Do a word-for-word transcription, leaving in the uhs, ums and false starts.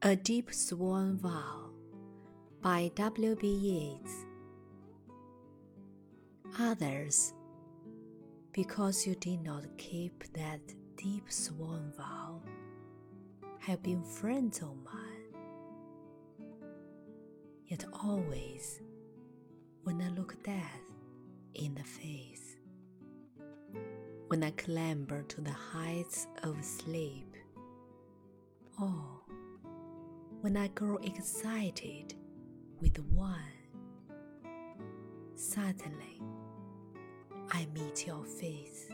A Deep Sworn Vow by W B Yeats. Others, because you did not keep that deep sworn vow, have been friends of mine. Yet always, when I look death in the face, when I clamber to the heights of sleep, or when I grow excited with one, suddenly I meet your face.